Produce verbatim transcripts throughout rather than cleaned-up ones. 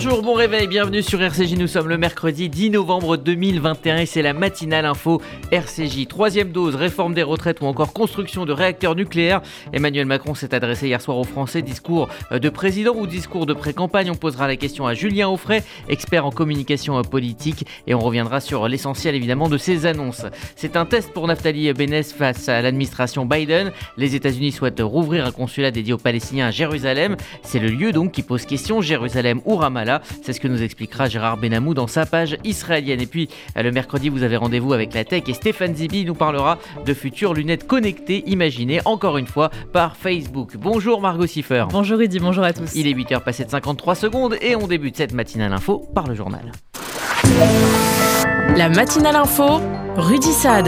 Bonjour, bon réveil, bienvenue sur R C J. Nous sommes le mercredi dix novembre deux mille vingt et un et c'est la matinale info R C J. Troisième dose, réforme des retraites ou encore construction de réacteurs nucléaires. Emmanuel Macron s'est adressé hier soir aux Français. Discours de président ou discours de pré-campagne? On posera la question à Julien Auffray, expert en communication politique, et on reviendra sur l'essentiel évidemment de ces annonces. C'est un test pour Naftali Bennett face à l'administration Biden. Les États-Unis souhaitent rouvrir un consulat dédié aux Palestiniens à Jérusalem. C'est le lieu donc qui pose question, Jérusalem ou Ramallah. C'est ce que nous expliquera Gérard Benamou dans sa page israélienne. Et puis le mercredi, vous avez rendez-vous avec la tech et Stéphane Zibi nous parlera de futures lunettes connectées imaginées encore une fois par Facebook. Bonjour Margot Siffer. Bonjour Rudy, bonjour à tous. Il est huit heures passées de cinquante-trois secondes et on débute cette matinale info par le journal. La matinale info, Rudy Saad.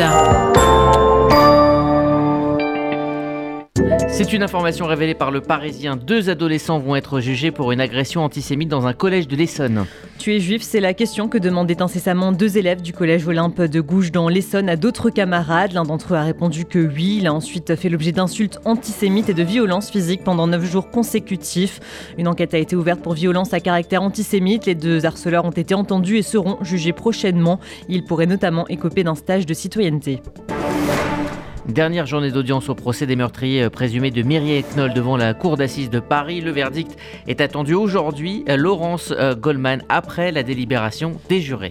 C'est une information révélée par le Parisien. Deux adolescents vont être jugés pour une agression antisémite dans un collège de l'Essonne. Tu es juif, c'est la question que demandaient incessamment deux élèves du collège Olympe de Gouges dans l'Essonne à d'autres camarades. L'un d'entre eux a répondu que oui. Il a ensuite fait l'objet d'insultes antisémites et de violences physiques pendant neuf jours consécutifs. Une enquête a été ouverte pour violence à caractère antisémite. Les deux harceleurs ont été entendus et seront jugés prochainement. Ils pourraient notamment écoper d'un stage de citoyenneté. Dernière journée d'audience au procès des meurtriers présumés de Mireille Knoll devant la cour d'assises de Paris. Le verdict est attendu aujourd'hui. Laurence Goldman après la délibération des jurés.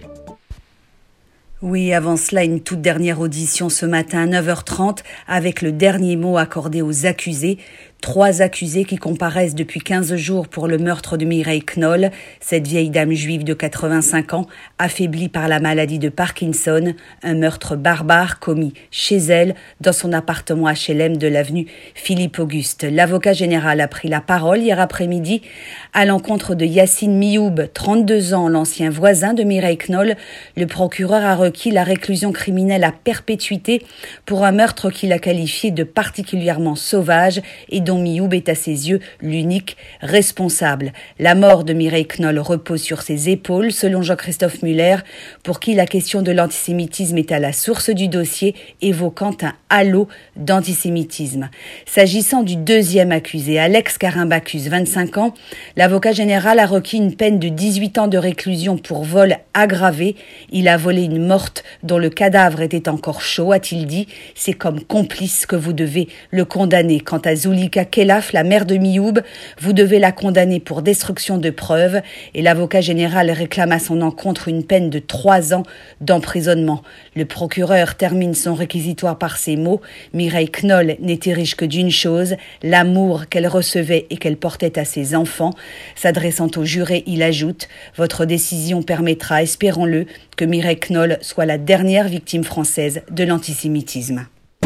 Oui, avant cela, une toute dernière audition ce matin à neuf heures trente avec le dernier mot accordé aux accusés. Trois accusés qui comparaissent depuis quinze jours pour le meurtre de Mireille Knoll, cette vieille dame juive de quatre-vingt-cinq ans, affaiblie par la maladie de Parkinson, un meurtre barbare commis chez elle, dans son appartement H L M de l'avenue Philippe-Auguste. L'avocat général a pris la parole hier après-midi à l'encontre de Yassine Mioub, trente-deux ans, l'ancien voisin de Mireille Knoll. Le procureur a requis la réclusion criminelle à perpétuité pour un meurtre qu'il a qualifié de particulièrement sauvage et dont Mioub est à ses yeux l'unique responsable. La mort de Mireille Knoll repose sur ses épaules, selon Jean-Christophe Muller, pour qui la question de l'antisémitisme est à la source du dossier, évoquant un halo d'antisémitisme. S'agissant du deuxième accusé, Alex Carimbacus, vingt-cinq ans, l'avocat général a requis une peine de dix-huit ans de réclusion pour vol aggravé. Il a volé une morte dont le cadavre était encore chaud, a-t-il dit. C'est comme complice que vous devez le condamner. Quant à Zulika Kelaf, la mère de Mioub, vous devez la condamner pour destruction de preuves et l'avocat général réclame à son encontre une peine de trois ans d'emprisonnement. Le procureur termine son réquisitoire par ces mots. Mireille Knoll n'était riche que d'une chose, l'amour qu'elle recevait et qu'elle portait à ses enfants. S'adressant aux jurés, il ajoute « Votre décision permettra, espérons-le, que Mireille Knoll soit la dernière victime française de l'antisémitisme. »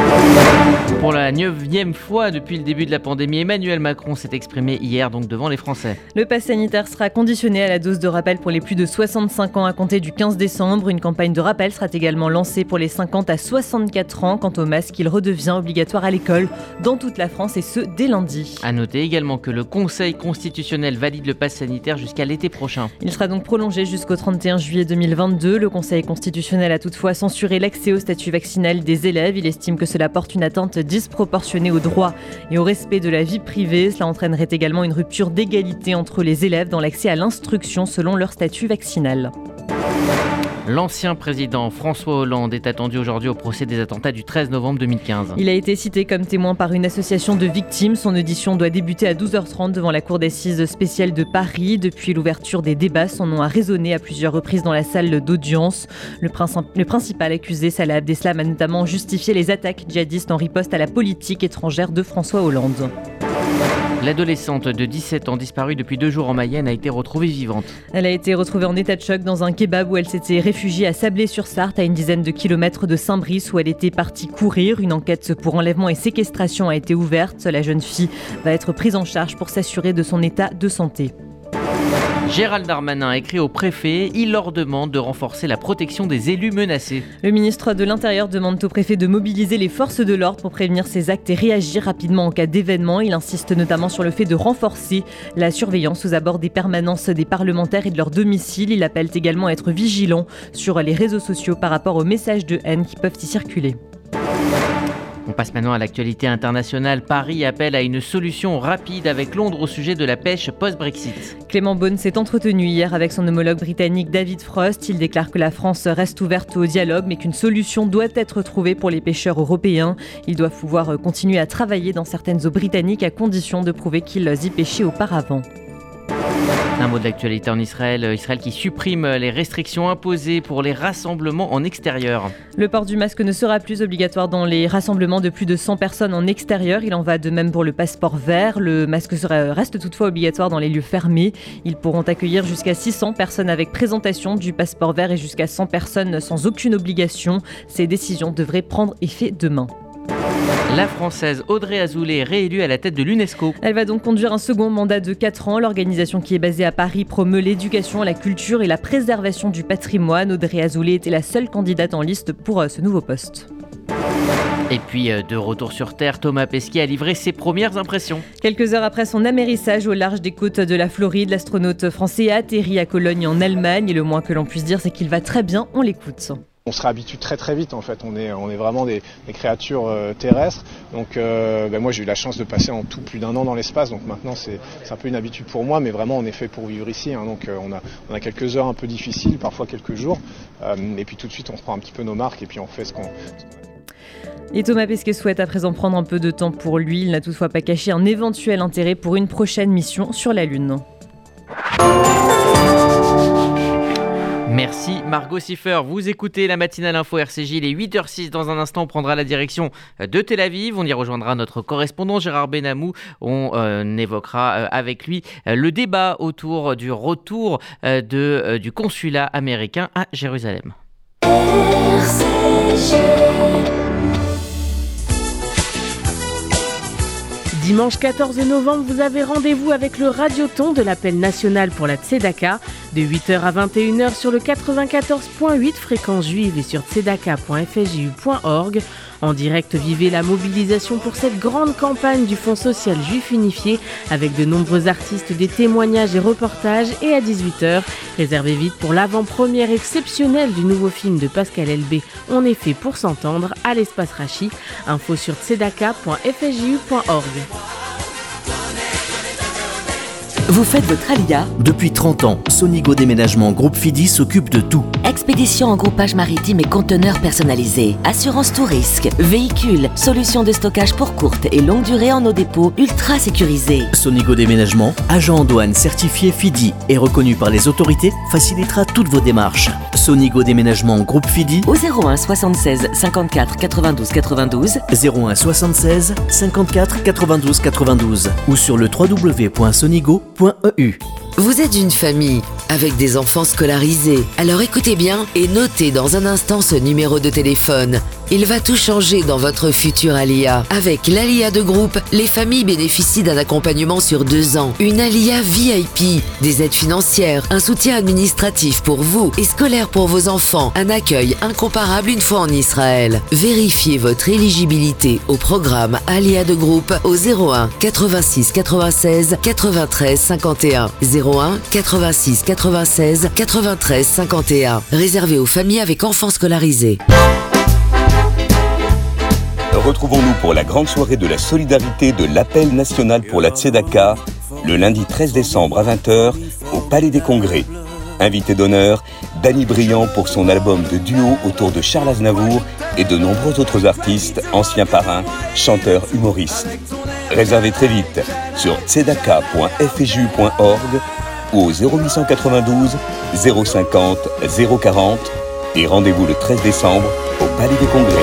Pour la neuvième fois depuis le début de la pandémie, Emmanuel Macron s'est exprimé hier donc devant les Français. Le pass sanitaire sera conditionné à la dose de rappel pour les plus de soixante-cinq ans à compter du quinze décembre. Une campagne de rappel sera également lancée pour les cinquante à soixante-quatre ans. Quant au masque, il redevient obligatoire à l'école dans toute la France et ce dès lundi. À noter également que le Conseil constitutionnel valide le pass sanitaire jusqu'à l'été prochain. Il sera donc prolongé jusqu'au trente et un juillet deux mille vingt-deux. Le Conseil constitutionnel a toutefois censuré l'accès au statut vaccinal des élèves. Il estime que cela porte une atteinte disproportionnée au droit et au respect de la vie privée. Cela entraînerait également une rupture d'égalité entre les élèves dans l'accès à l'instruction selon leur statut vaccinal. L'ancien président François Hollande est attendu aujourd'hui au procès des attentats du treize novembre deux mille quinze. Il a été cité comme témoin par une association de victimes. Son audition doit débuter à douze heures trente devant la cour d'assises spéciale de Paris. Depuis l'ouverture des débats, son nom a résonné à plusieurs reprises dans la salle d'audience. Le, princi- le principal accusé, Salah Abdeslam, a notamment justifié les attaques djihadistes en riposte à la politique étrangère de François Hollande. L'adolescente de dix-sept ans disparue depuis deux jours en Mayenne a été retrouvée vivante. Elle a été retrouvée en état de choc dans un kebab où elle s'était réfugiée à Sablé-sur-Sarthe, à une dizaine de kilomètres de Saint-Brice, où elle était partie courir. Une enquête pour enlèvement et séquestration a été ouverte. La jeune fille va être prise en charge pour s'assurer de son état de santé. Gérald Darmanin a écrit au préfet, il leur demande de renforcer la protection des élus menacés. Le ministre de l'Intérieur demande au préfet de mobiliser les forces de l'ordre pour prévenir ces actes et réagir rapidement en cas d'événement. Il insiste notamment sur le fait de renforcer la surveillance aux abords des permanences des parlementaires et de leur domicile. Il appelle également à être vigilant sur les réseaux sociaux par rapport aux messages de haine qui peuvent y circuler. On passe maintenant à l'actualité internationale. Paris appelle à une solution rapide avec Londres au sujet de la pêche post-Brexit. Clément Beaune s'est entretenu hier avec son homologue britannique David Frost. Il déclare que la France reste ouverte au dialogue mais qu'une solution doit être trouvée pour les pêcheurs européens. Ils doivent pouvoir continuer à travailler dans certaines eaux britanniques à condition de prouver qu'ils y pêchaient auparavant. Un mot de l'actualité en Israël. Israël qui supprime les restrictions imposées pour les rassemblements en extérieur. Le port du masque ne sera plus obligatoire dans les rassemblements de plus de cent personnes en extérieur. Il en va de même pour le passeport vert. Le masque sera, reste toutefois obligatoire dans les lieux fermés. Ils pourront accueillir jusqu'à six cents personnes avec présentation du passeport vert et jusqu'à cent personnes sans aucune obligation. Ces décisions devraient prendre effet demain. La Française Audrey Azoulay est réélue à la tête de l'UNESCO. Elle va donc conduire un second mandat de quatre ans. L'organisation qui est basée à Paris promeut l'éducation, la culture et la préservation du patrimoine. Audrey Azoulay était la seule candidate en liste pour ce nouveau poste. Et puis, de retour sur Terre, Thomas Pesquet a livré ses premières impressions. Quelques heures après son amérissage au large des côtes de la Floride, l'astronaute français a atterri à Cologne en Allemagne. Et le moins que l'on puisse dire, c'est qu'il va très bien. On l'écoute. On se réhabitue très très vite en fait, on est, on est vraiment des, des créatures euh, terrestres. Donc euh, ben moi j'ai eu la chance de passer en tout plus d'un an dans l'espace, donc maintenant c'est, c'est un peu une habitude pour moi, mais vraiment on est fait pour vivre ici. Hein, donc euh, on, a, on a quelques heures un peu difficiles, parfois quelques jours, euh, et puis tout de suite on reprend un petit peu nos marques et puis on fait ce qu'on... Et Thomas Pesquet souhaite à présent prendre un peu de temps pour lui. Il n'a toutefois pas caché un éventuel intérêt pour une prochaine mission sur la Lune. Merci Margot Siffer. Vous écoutez la matinale info R C J, il est huit heures six. Dans un instant, on prendra la direction de Tel Aviv. On y rejoindra notre correspondant Gérard Benamou. On euh, évoquera euh, avec lui euh, le débat autour du retour euh, de, euh, du consulat américain à Jérusalem. R C G. Dimanche quatorze novembre, vous avez rendez-vous avec le Radioton de l'appel national pour la Tzedaka de huit heures à vingt et une heures sur le quatre-vingt-quatorze virgule huit fréquence juive et sur tzedaka point f s j u point org. En direct, vivez la mobilisation pour cette grande campagne du Fonds social juif unifié avec de nombreux artistes, des témoignages et reportages. Et à dix-huit heures, réservez vite pour l'avant-première exceptionnelle du nouveau film de Pascal Elbé, On est fait pour s'entendre, à l'espace Rachi. Info sur tzedaka point f s j u point org. Vous faites votre alia ? Depuis trente ans, Sonigo Déménagement Groupe Fidi s'occupe de tout. Expédition en groupage maritime et conteneurs personnalisés. Assurance tout risque. Véhicules. Solutions de stockage pour courte et longue durée en nos dépôts ultra sécurisés. Sonigo Déménagement, agent en douane certifié Fidi et reconnu par les autorités, facilitera toutes vos démarches. Sonigo Déménagement Groupe Fidi au zéro un soixante-seize cinquante-quatre quatre-vingt-douze quatre-vingt-douze zéro un soixante-seize cinquante-quatre quatre-vingt-douze quatre-vingt-douze ou sur le w w w point sonigo point e u. Vous êtes une famille avec des enfants scolarisés. Alors écoutez bien et notez dans un instant ce numéro de téléphone. Il va tout changer dans votre futur Alia. Avec l'Alia de groupe, les familles bénéficient d'un accompagnement sur deux ans, une Alia V I P, des aides financières, un soutien administratif pour vous et scolaire pour vos enfants, un accueil incomparable une fois en Israël. Vérifiez votre éligibilité au programme Alia de groupe au zéro un quatre-vingt-six quatre-vingt-seize quatre-vingt-treize cinquante et un zéro un quatre-vingt-six quatre-vingt-seize quatre-vingt-treize cinquante et un. Réservé aux familles avec enfants scolarisés. Retrouvons-nous pour la grande soirée de la solidarité de l'appel national pour la Tzedaka, le lundi treize décembre à vingt heures au Palais des Congrès. Invité d'honneur, Danny Briand pour son album de duo autour de Charles Aznavour et de nombreux autres artistes, anciens parrains, chanteurs, humoristes. Réservez très vite sur tzedaka point f s j u point org ou au zéro huit cent quatre-vingt-douze zéro cinquante zéro quarante et rendez-vous le treize décembre au Palais des Congrès.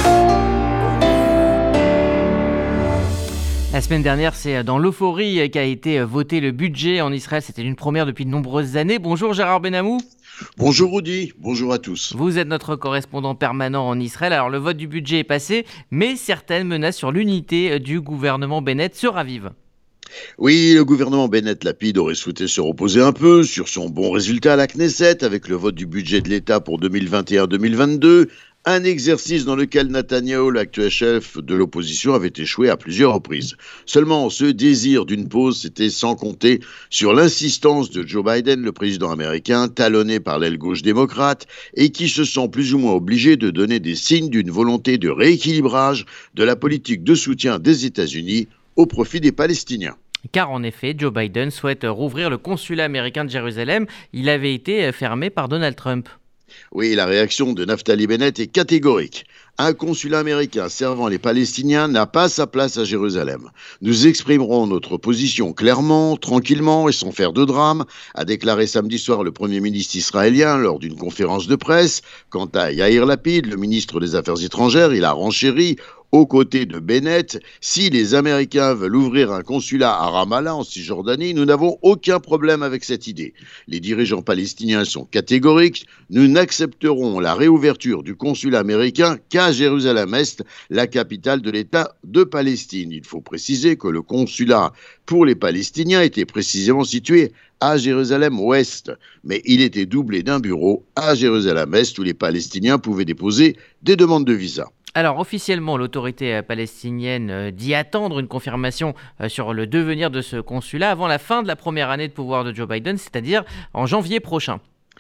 La semaine dernière, c'est dans l'euphorie qu'a été voté le budget en Israël. C'était une première depuis de nombreuses années. Bonjour Gérard Benamou. Bonjour Rudy, bonjour à tous. Vous êtes notre correspondant permanent en Israël. Alors le vote du budget est passé, mais certaines menaces sur l'unité du gouvernement Bennett se ravivent. Oui, le gouvernement Bennett-Lapid aurait souhaité se reposer un peu sur son bon résultat à la Knesset avec le vote du budget de l'État pour deux mille vingt et un deux mille vingt-deux, Un exercice dans lequel Netanyahou, l'actuel chef de l'opposition, avait échoué à plusieurs reprises. Seulement, ce désir d'une pause, c'était sans compter sur l'insistance de Joe Biden, le président américain, talonné par l'aile gauche démocrate, et qui se sent plus ou moins obligé de donner des signes d'une volonté de rééquilibrage de la politique de soutien des États-Unis au profit des Palestiniens. Car en effet, Joe Biden souhaite rouvrir le consulat américain de Jérusalem. Il avait été fermé par Donald Trump. Oui, la réaction de Naftali Bennett est catégorique. Un consulat américain servant les Palestiniens n'a pas sa place à Jérusalem. Nous exprimerons notre position clairement, tranquillement et sans faire de drame, a déclaré samedi soir le Premier ministre israélien lors d'une conférence de presse. Quant à Yair Lapid, le ministre des Affaires étrangères, il a renchéri aux côtés de Bennett. Si les Américains veulent ouvrir un consulat à Ramallah en Cisjordanie, nous n'avons aucun problème avec cette idée. Les dirigeants palestiniens sont catégoriques. Nous n'accepterons la réouverture du consulat américain qu'à Jérusalem-Est, la capitale de l'État de Palestine. Il faut préciser que le consulat pour les Palestiniens était précisément situé à Jérusalem-Ouest, mais il était doublé d'un bureau à Jérusalem-Est où les Palestiniens pouvaient déposer des demandes de visa. Alors officiellement, l'autorité palestinienne dit attendre une confirmation sur le devenir de ce consulat avant la fin de la première année de pouvoir de Joe Biden, c'est-à-dire en janvier prochain.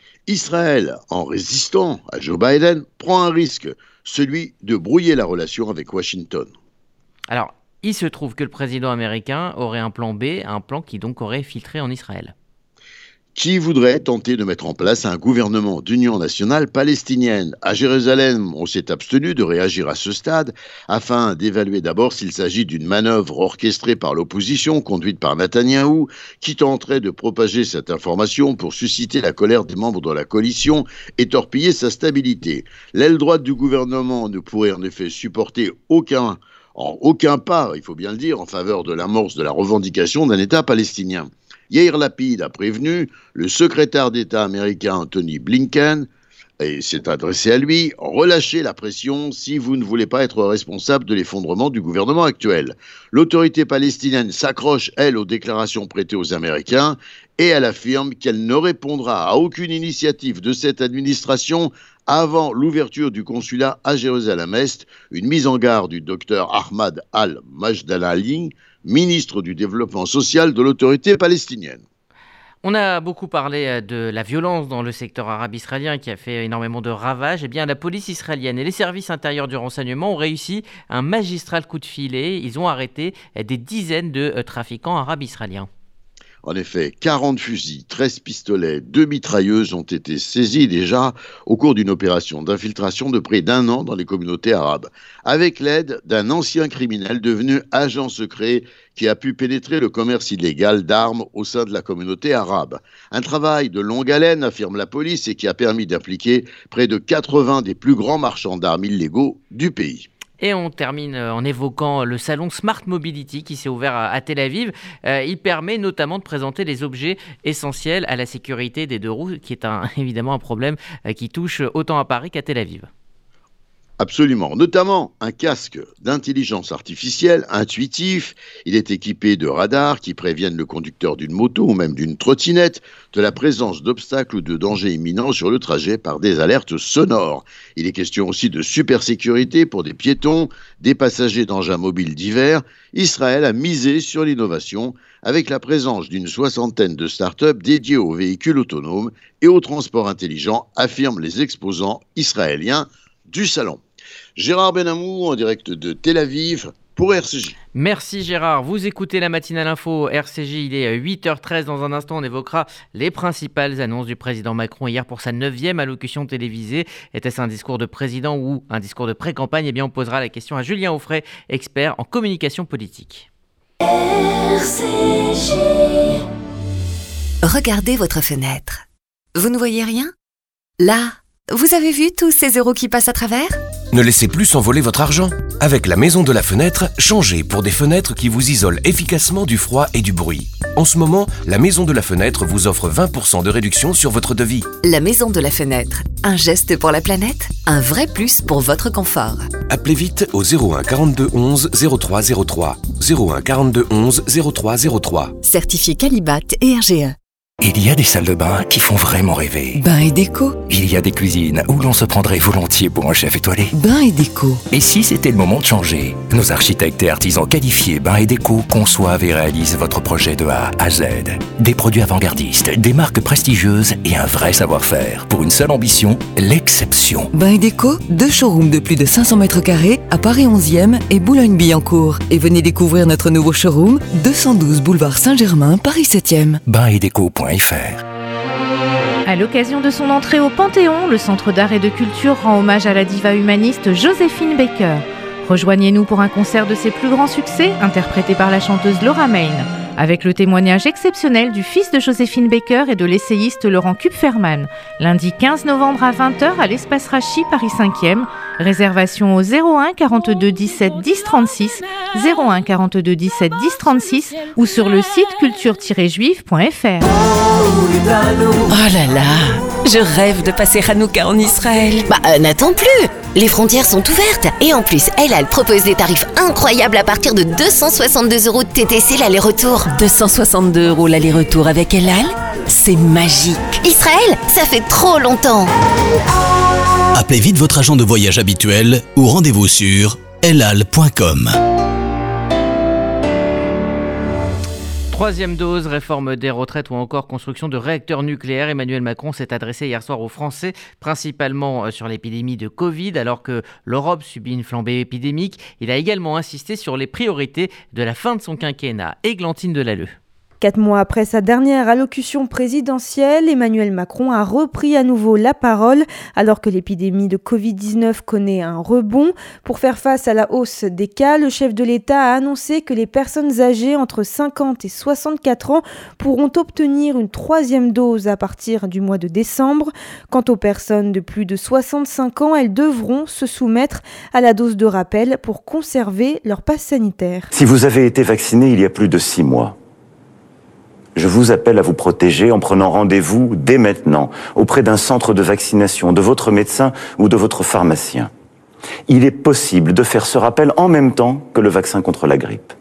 Israël, en résistant à Joe Biden, prend un risque, celui de brouiller la relation avec Washington. Alors, il se trouve que le président américain aurait un plan B, un plan qui donc aurait filtré en Israël. Qui voudrait tenter de mettre en place un gouvernement d'union nationale palestinienne. À Jérusalem, on s'est abstenu de réagir à ce stade afin d'évaluer d'abord s'il s'agit d'une manœuvre orchestrée par l'opposition conduite par Netanyahou qui tenterait de propager cette information pour susciter la colère des membres de la coalition et torpiller sa stabilité. L'aile droite du gouvernement ne pourrait en effet supporter aucun, en aucun pas, il faut bien le dire, en faveur de l'amorce de la revendication d'un État palestinien. Yair Lapid a prévenu le secrétaire d'État américain Anthony Blinken, et s'est adressé à lui, relâchez la pression si vous ne voulez pas être responsable de l'effondrement du gouvernement actuel. L'autorité palestinienne s'accroche, elle, aux déclarations prêtées aux Américains, et elle affirme qu'elle ne répondra à aucune initiative de cette administration avant l'ouverture du consulat à Jérusalem-Est, une mise en garde du docteur Ahmad al-Majdalali, ministre du Développement social de l'autorité palestinienne. On a beaucoup parlé de la violence dans le secteur arabe israélien qui a fait énormément de ravages. Eh bien, la police israélienne et les services intérieurs du renseignement ont réussi un magistral coup de filet. Ils ont arrêté des dizaines de trafiquants arabes israéliens. En effet, quarante fusils, treize pistolets, deux mitrailleuses ont été saisis déjà au cours d'une opération d'infiltration de près d'un an dans les communautés arabes, avec l'aide d'un ancien criminel devenu agent secret qui a pu pénétrer le commerce illégal d'armes au sein de la communauté arabe. Un travail de longue haleine, affirme la police, et qui a permis d'impliquer près de quatre-vingts des plus grands marchands d'armes illégaux du pays. Et on termine en évoquant le salon Smart Mobility qui s'est ouvert à Tel Aviv. Euh, il permet notamment de présenter les objets essentiels à la sécurité des deux roues, qui est un, évidemment un problème qui touche autant à Paris qu'à Tel Aviv. Absolument, notamment un casque d'intelligence artificielle intuitif. Il est équipé de radars qui préviennent le conducteur d'une moto ou même d'une trottinette de la présence d'obstacles ou de dangers imminents sur le trajet par des alertes sonores. Il est question aussi de supersécurité pour des piétons, des passagers d'engins mobiles divers. Israël a misé sur l'innovation avec la présence d'une soixantaine de start-up dédiées aux véhicules autonomes et au transport intelligent, affirment les exposants israéliens du salon. Gérard Benamou en direct de Tel Aviv pour R C J. Merci Gérard. Vous écoutez la matinale info R C J, il est huit heures treize. Dans un instant, on évoquera les principales annonces du président Macron hier pour sa neuvième allocution télévisée. Était-ce un discours de président ou un discours de pré-campagne ? Eh bien, on posera la question à Julien Auffray, expert en communication politique. R C J. Regardez votre fenêtre. Vous ne voyez rien ? Là, vous avez vu tous ces euros qui passent à travers ? Ne laissez plus s'envoler votre argent. Avec la Maison de la Fenêtre, changez pour des fenêtres qui vous isolent efficacement du froid et du bruit. En ce moment, la Maison de la Fenêtre vous offre vingt pour cent de réduction sur votre devis. La Maison de la Fenêtre, un geste pour la planète, un vrai plus pour votre confort. Appelez vite au zéro un quarante-deux onze zéro trois zéro trois. zéro un quarante-deux onze zéro trois zéro trois. Certifié Qualibat et R G E. Il y a des salles de bain qui font vraiment rêver. Bain et déco. Il y a des cuisines où l'on se prendrait volontiers pour un chef étoilé. Bain et déco. Et si c'était le moment de changer? Nos architectes et artisans qualifiés Bain et déco conçoivent et réalisent votre projet de A à Z. Des produits avant-gardistes, des marques prestigieuses et un vrai savoir-faire. Pour une seule ambition, l'exception. Bain et déco, deux showrooms de plus de cinq cents mètres carrés à Paris onzième et Boulogne-Billancourt. Et venez découvrir notre nouveau showroom, deux cent douze boulevard Saint-Germain, Paris septième. bain et déco point f r. À l'occasion de son entrée au Panthéon, le Centre d'art et de culture rend hommage à la diva humaniste Joséphine Baker. Rejoignez-nous pour un concert de ses plus grands succès, interprété par la chanteuse Laura Main, avec le témoignage exceptionnel du fils de Joséphine Baker et de l'essayiste Laurent Kupferman, lundi quinze novembre à vingt heures à l'Espace Rachi, Paris cinquième. Réservation au zéro un quarante-deux dix-sept dix trente-six, zéro un quarante-deux dix-sept dix trente-six ou sur le site culture tiret juive point f r. Oh là là, je rêve de passer Hanouka en Israël. Bah euh, n'attends plus, les frontières sont ouvertes et en plus El Al propose des tarifs incroyables à partir de deux cent soixante-deux euros de T T C l'aller-retour. deux cent soixante-deux euros l'aller-retour avec El Al, c'est magique. Israël, ça fait trop longtemps. Appelez vite votre agent de voyage habituel ou rendez-vous sur elal point com. Troisième dose, réforme des retraites ou encore construction de réacteurs nucléaires. Emmanuel Macron s'est adressé hier soir aux Français, principalement sur l'épidémie de Covid, alors que l'Europe subit une flambée épidémique. Il a également insisté sur les priorités de la fin de son quinquennat. Églantine Delalleux. Quatre mois après sa dernière allocution présidentielle, Emmanuel Macron a repris à nouveau la parole alors que l'épidémie de covid dix-neuf connaît un rebond. Pour faire face à la hausse des cas, le chef de l'État a annoncé que les personnes âgées entre cinquante et soixante-quatre ans pourront obtenir une troisième dose à partir du mois de décembre. Quant aux personnes de plus de soixante-cinq ans, elles devront se soumettre à la dose de rappel pour conserver leur passe sanitaire. Si vous avez été vacciné il y a plus de six mois, je vous appelle à vous protéger en prenant rendez-vous dès maintenant auprès d'un centre de vaccination, de votre médecin ou de votre pharmacien. Il est possible de faire ce rappel en même temps que le vaccin contre la grippe.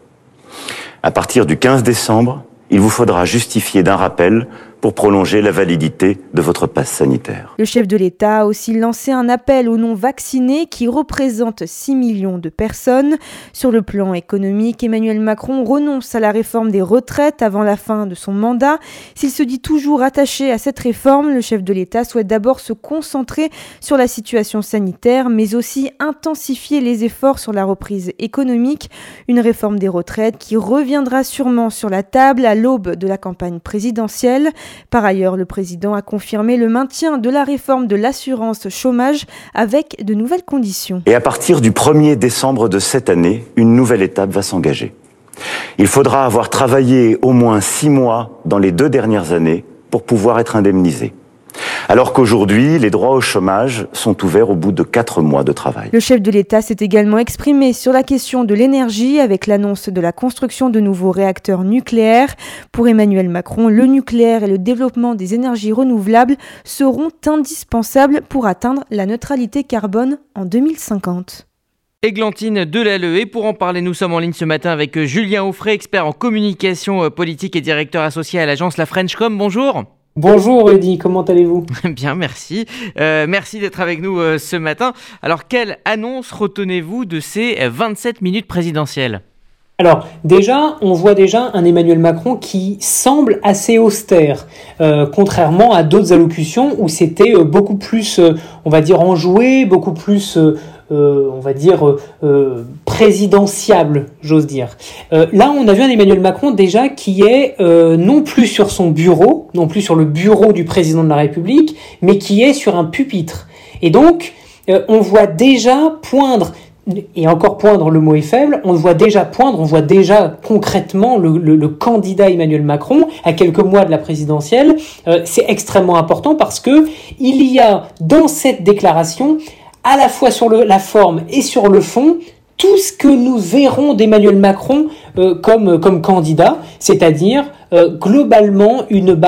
À partir du quinze décembre, il vous faudra justifier d'un rappel pour prolonger la validité de votre passe sanitaire. Le chef de l'État a aussi lancé un appel aux non-vaccinés qui représente six millions de personnes. Sur le plan économique, Emmanuel Macron renonce à la réforme des retraites avant la fin de son mandat. S'il se dit toujours attaché à cette réforme, le chef de l'État souhaite d'abord se concentrer sur la situation sanitaire, mais aussi intensifier les efforts sur la reprise économique. Une réforme des retraites qui reviendra sûrement sur la table à l'aube de la campagne présidentielle. Par ailleurs, le président a confirmé le maintien de la réforme de l'assurance chômage avec de nouvelles conditions. Et à partir du premier décembre de cette année, une nouvelle étape va s'engager. Il faudra avoir travaillé au moins six mois dans les deux dernières années pour pouvoir être indemnisé. Alors qu'aujourd'hui, les droits au chômage sont ouverts au bout de quatre mois de travail. Le chef de l'État s'est également exprimé sur la question de l'énergie avec l'annonce de la construction de nouveaux réacteurs nucléaires. Pour Emmanuel Macron, le nucléaire et le développement des énergies renouvelables seront indispensables pour atteindre la neutralité carbone en deux mille cinquante. Églantine Delalleux. Et pour en parler, nous sommes en ligne ce matin avec Julien Auffray, expert en communication politique et directeur associé à l'agence La Frenchcom. Bonjour. Bonjour Rudy, comment allez-vous ? Bien, merci. Euh, merci d'être avec nous euh, ce matin. Alors, quelle annonce retenez-vous de ces vingt-sept minutes présidentielles ? Alors déjà, on voit déjà un Emmanuel Macron qui semble assez austère, euh, contrairement à d'autres allocutions où c'était euh, beaucoup plus, euh, on va dire, enjoué, beaucoup plus... Euh, Euh, on va dire, euh, présidentiable, j'ose dire. Euh, là, on a vu un Emmanuel Macron déjà qui est euh, non plus sur son bureau, non plus sur le bureau du président de la République, mais qui est sur un pupitre. Et donc, euh, on voit déjà poindre, et encore poindre, le mot est faible, on voit déjà poindre, on voit déjà concrètement le, le, le candidat Emmanuel Macron à quelques mois de la présidentielle. Euh, c'est extrêmement important parce que il y a dans cette déclaration à la fois sur le, la forme et sur le fond, tout ce que nous verrons d'Emmanuel Macron euh, comme, comme candidat, c'est-à-dire euh, globalement une barre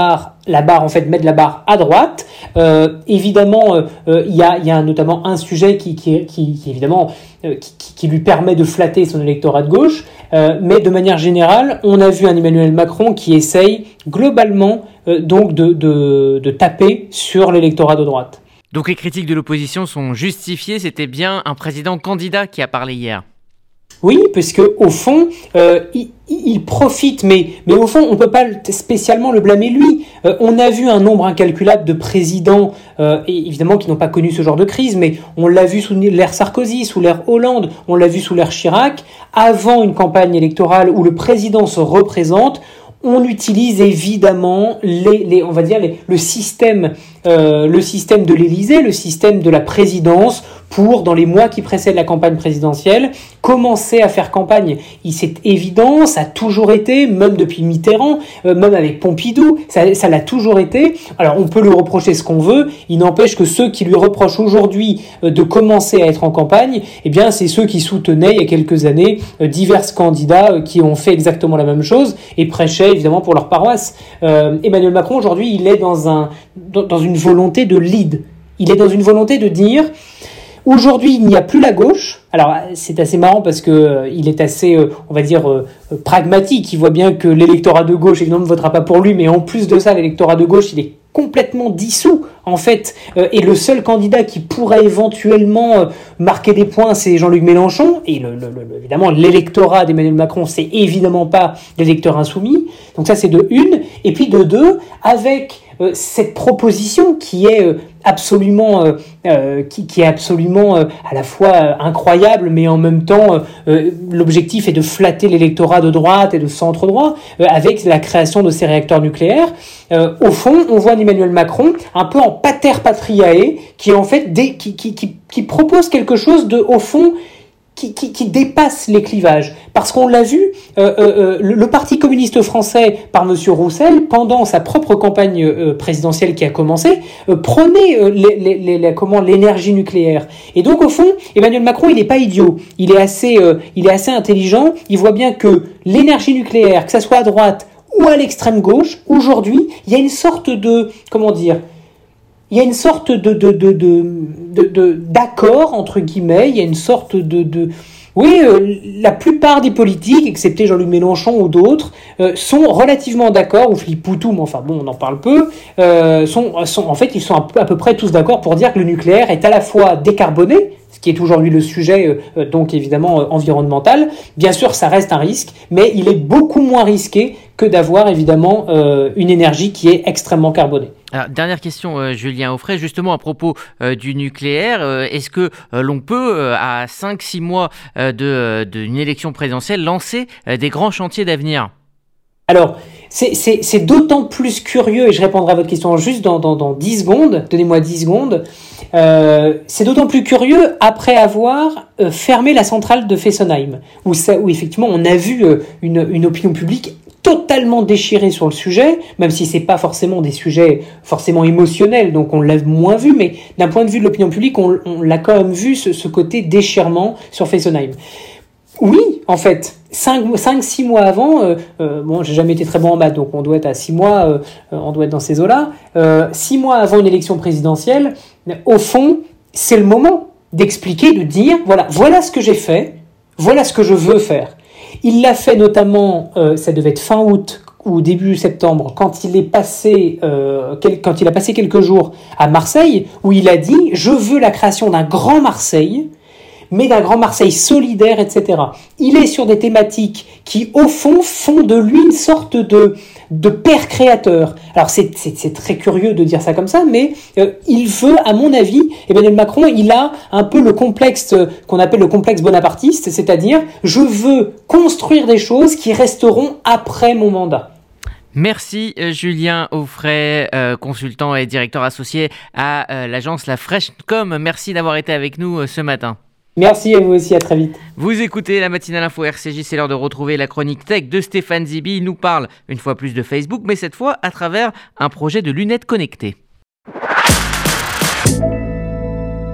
la barre, en fait, mettre la barre à droite. Euh, évidemment, il euh, y, a, y a notamment un sujet qui, qui, qui, qui évidemment, euh, qui, qui lui permet de flatter son électorat de gauche. Euh, mais de manière générale, on a vu un Emmanuel Macron qui essaye globalement euh, donc de, de, de taper sur l'électorat de droite. Donc les critiques de l'opposition sont justifiées, c'était bien un président candidat qui a parlé hier. Oui, parce que au fond, euh, il, il profite, mais, mais au fond, on ne peut pas spécialement le blâmer lui. Euh, on a vu un nombre incalculable de présidents, euh, et évidemment, qui n'ont pas connu ce genre de crise, mais on l'a vu sous l'ère Sarkozy, sous l'ère Hollande, on l'a vu sous l'ère Chirac. Avant une campagne électorale où le président se représente, on utilise évidemment les, les on va dire les, le système, euh, le système de l'Élysée, le système de la présidence pour, dans les mois qui précèdent la campagne présidentielle, commencer à faire campagne. Il, c'est évident, ça a toujours été, même depuis Mitterrand, euh, même avec Pompidou, ça, ça l'a toujours été. Alors on peut lui reprocher ce qu'on veut, il n'empêche que ceux qui lui reprochent aujourd'hui euh, de commencer à être en campagne, eh bien c'est ceux qui soutenaient il y a quelques années euh, divers candidats euh, qui ont fait exactement la même chose et prêchaient évidemment pour leur paroisse. Euh, Emmanuel Macron aujourd'hui, il est dans un dans, dans une volonté de lead. Il est dans une volonté de dire aujourd'hui, il n'y a plus la gauche. Alors, c'est assez marrant parce que euh, il est assez, euh, on va dire, euh, pragmatique. Il voit bien que l'électorat de gauche, évidemment, ne votera pas pour lui, mais en plus de ça, l'électorat de gauche, il est complètement dissous, en fait. Euh, et le seul candidat qui pourrait éventuellement euh, marquer des points, c'est Jean-Luc Mélenchon. Et le, le, le, évidemment, l'électorat d'Emmanuel Macron, c'est évidemment pas l'électeur insoumis. Donc ça, c'est de une. Et puis de deux, avec euh, cette proposition qui est euh, absolument, euh, euh, qui, qui est absolument euh, à la fois euh, incroyable, mais en même temps, euh, l'objectif est de flatter l'électorat de droite et de centre droit euh, avec la création de ces réacteurs nucléaires. Euh, au fond, on voit Emmanuel Macron un peu en pater patriae, qui en fait des, qui, qui, qui, qui propose quelque chose de, au fond, Qui, qui, qui dépasse les clivages. Parce qu'on l'a vu, euh, euh, le, le Parti communiste français, par M. Roussel, pendant sa propre campagne euh, présidentielle qui a commencé, euh, prenait euh, les, les, les, les, comment, l'énergie nucléaire. Et donc, au fond, Emmanuel Macron, il n'est pas idiot. Il est, assez, euh, il est assez intelligent. Il voit bien que l'énergie nucléaire, que ça soit à droite ou à l'extrême gauche, aujourd'hui, il y a une sorte de, comment dire, il y a une sorte de, de, de, de, de, de, d'accord, entre guillemets, il y a une sorte de... de oui, euh, la plupart des politiques, excepté Jean-Luc Mélenchon ou d'autres, euh, sont relativement d'accord, ou Philippe Poutou, mais enfin bon, on en parle peu, euh, sont, sont, en fait, ils sont à peu, à peu près tous d'accord pour dire que le nucléaire est à la fois décarboné, ce qui est aujourd'hui le sujet, euh, donc évidemment euh, environnemental. Bien sûr, ça reste un risque, mais il est beaucoup moins risqué que d'avoir évidemment euh, une énergie qui est extrêmement carbonée. Alors, dernière question, euh, Julien Auffray, justement à propos euh, du nucléaire, euh, est-ce que euh, l'on peut, euh, à cinq six mois euh, de, euh, d'une élection présidentielle, lancer euh, des grands chantiers d'avenir ? Alors, c'est, c'est, c'est d'autant plus curieux, et je répondrai à votre question juste dans, dans, dans dix secondes, donnez-moi dix secondes, euh, c'est d'autant plus curieux après avoir euh, fermé la centrale de Fessenheim, où, ça, où effectivement on a vu euh, une, une opinion publique totalement déchirée sur le sujet, même si c'est pas forcément des sujets forcément émotionnels, donc on l'a moins vu, mais d'un point de vue de l'opinion publique, on, on l'a quand même vu, ce, ce côté déchirement sur Fessenheim. Oui, en fait, cinq six mois avant, euh, euh, bon, j'ai jamais été très bon en maths, donc on doit être à six mois, euh, on doit être dans ces eaux-là, euh, six mois avant une élection présidentielle, au fond, c'est le moment d'expliquer, de dire, voilà, voilà ce que j'ai fait, voilà ce que je veux faire. Il l'a fait notamment, euh, ça devait être fin août ou début septembre, quand il est passé, euh, quel, quand il a passé quelques jours à Marseille, où il a dit « Je veux la création d'un grand Marseille », mais d'un grand Marseille solidaire, et cetera. Il est sur des thématiques qui, au fond, font de lui une sorte de, de père créateur. Alors, c'est, c'est, c'est très curieux de dire ça comme ça, mais euh, il veut, à mon avis, Emmanuel Macron, il a un peu le complexe euh, qu'on appelle le complexe bonapartiste, c'est-à-dire, je veux construire des choses qui resteront après mon mandat. Merci euh, Julien Auffray, euh, consultant et directeur associé à euh, l'agence La Fraîche.com. Merci d'avoir été avec nous euh, ce matin. Merci à vous aussi, à très vite. Vous écoutez la matinale info R C J, c'est l'heure de retrouver la chronique tech de Stéphane Zibi. Il nous parle une fois plus de Facebook, mais cette fois à travers un projet de lunettes connectées.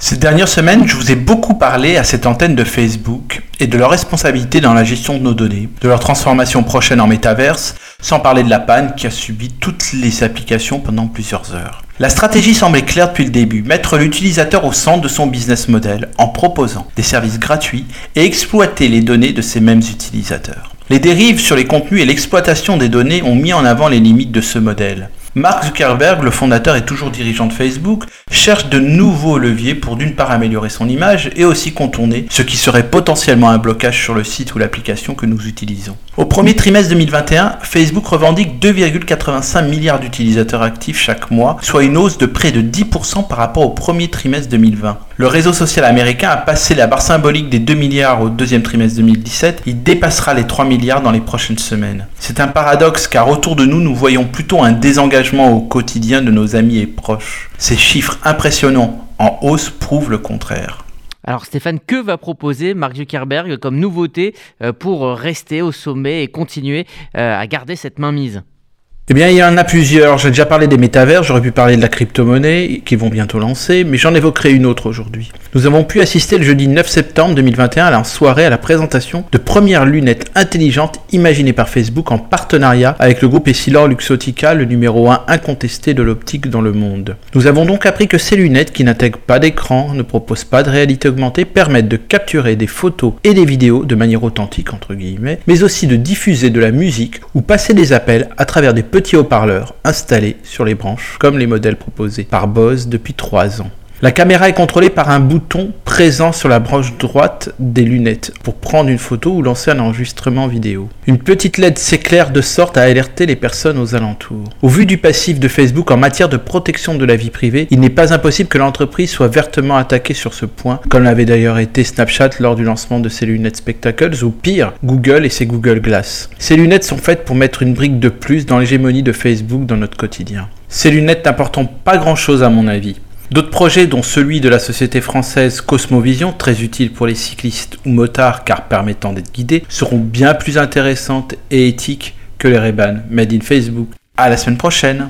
Ces dernières semaines, je vous ai beaucoup parlé à cette antenne de Facebook et de leur responsabilité dans la gestion de nos données, de leur transformation prochaine en métaverse, sans parler de la panne qui a subi toutes les applications pendant plusieurs heures. La stratégie semblait claire depuis le début, mettre l'utilisateur au centre de son business model en proposant des services gratuits et exploiter les données de ces mêmes utilisateurs. Les dérives sur les contenus et l'exploitation des données ont mis en avant les limites de ce modèle. Mark Zuckerberg, le fondateur et toujours dirigeant de Facebook, cherche de nouveaux leviers pour d'une part améliorer son image et aussi contourner ce qui serait potentiellement un blocage sur le site ou l'application que nous utilisons. Au premier trimestre deux mille vingt et un, Facebook revendique deux virgule quatre-vingt-cinq milliards d'utilisateurs actifs chaque mois, soit une hausse de près de dix pour cent par rapport au premier trimestre deux mille vingt. Le réseau social américain a passé la barre symbolique des deux milliards au deuxième trimestre deux mille dix-sept, il dépassera les trois milliards dans les prochaines semaines. C'est un paradoxe car autour de nous, nous voyons plutôt un désengagement au quotidien de nos amis et proches. Ces chiffres impressionnants en hausse prouvent le contraire. Alors Stéphane, que va proposer Mark Zuckerberg comme nouveauté pour rester au sommet et continuer à garder cette mainmise ? Eh bien, il y en a plusieurs. J'ai déjà parlé des métavers, j'aurais pu parler de la crypto-monnaie, qui vont bientôt lancer, mais j'en évoquerai une autre aujourd'hui. Nous avons pu assister le jeudi neuf septembre deux mille vingt et un à la soirée à la présentation de premières lunettes intelligentes imaginées par Facebook en partenariat avec le groupe EssilorLuxottica, le numéro un incontesté de l'optique dans le monde. Nous avons donc appris que ces lunettes, qui n'intègrent pas d'écran, ne proposent pas de réalité augmentée, permettent de capturer des photos et des vidéos de manière authentique, entre guillemets, mais aussi de diffuser de la musique ou passer des appels à travers des petits haut-parleurs installés sur les branches, comme les modèles proposés par Bose depuis trois ans. La caméra est contrôlée par un bouton présent sur la branche droite des lunettes pour prendre une photo ou lancer un enregistrement vidéo. Une petite L E D s'éclaire de sorte à alerter les personnes aux alentours. Au vu du passif de Facebook en matière de protection de la vie privée, il n'est pas impossible que l'entreprise soit vertement attaquée sur ce point, comme l'avait d'ailleurs été Snapchat lors du lancement de ses lunettes Spectacles, ou pire, Google et ses Google Glass. Ces lunettes sont faites pour mettre une brique de plus dans l'hégémonie de Facebook dans notre quotidien. Ces lunettes n'apportent pas grand-chose à mon avis. D'autres projets, dont celui de la société française Cosmovision, très utile pour les cyclistes ou motards car permettant d'être guidés, seront bien plus intéressantes et éthiques que les Ray-Ban Made in Facebook. À la semaine prochaine.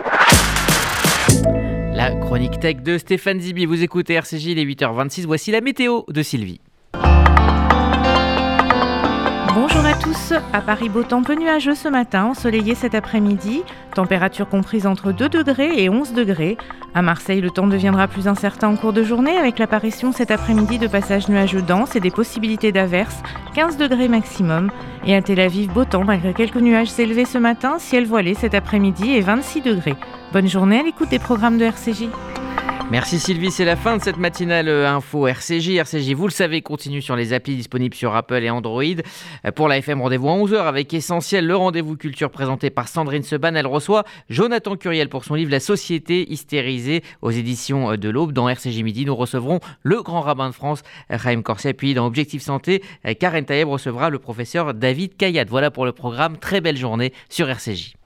La chronique tech de Stéphane Zibi. Vous écoutez R C J, il est huit heures vingt-six. Voici la météo de Sylvie. Bonjour à tous, à Paris beau temps peu nuageux ce matin, ensoleillé cet après-midi, température comprise entre deux degrés et onze degrés. À Marseille, le temps deviendra plus incertain en cours de journée avec l'apparition cet après-midi de passages nuageux denses et des possibilités d'averses, quinze degrés maximum. Et à Tel Aviv, beau temps malgré quelques nuages élevés ce matin, ciel voilé cet après-midi et vingt-six degrés. Bonne journée à l'écoute des programmes de R C J. Merci Sylvie, c'est la fin de cette matinale info R C J. R C J, vous le savez, continue sur les applis disponibles sur Apple et Android. Pour la F M, rendez-vous à onze heures avec Essentiel, le rendez-vous culture présenté par Sandrine Seban. Elle reçoit Jonathan Curiel pour son livre La Société hystérisée aux éditions de l'Aube. Dans R C J Midi, nous recevrons le grand rabbin de France, Chaim Corsia. Puis dans Objectif Santé, Karen Taïeb recevra le professeur David Kayat. Voilà pour le programme. Très belle journée sur R C J.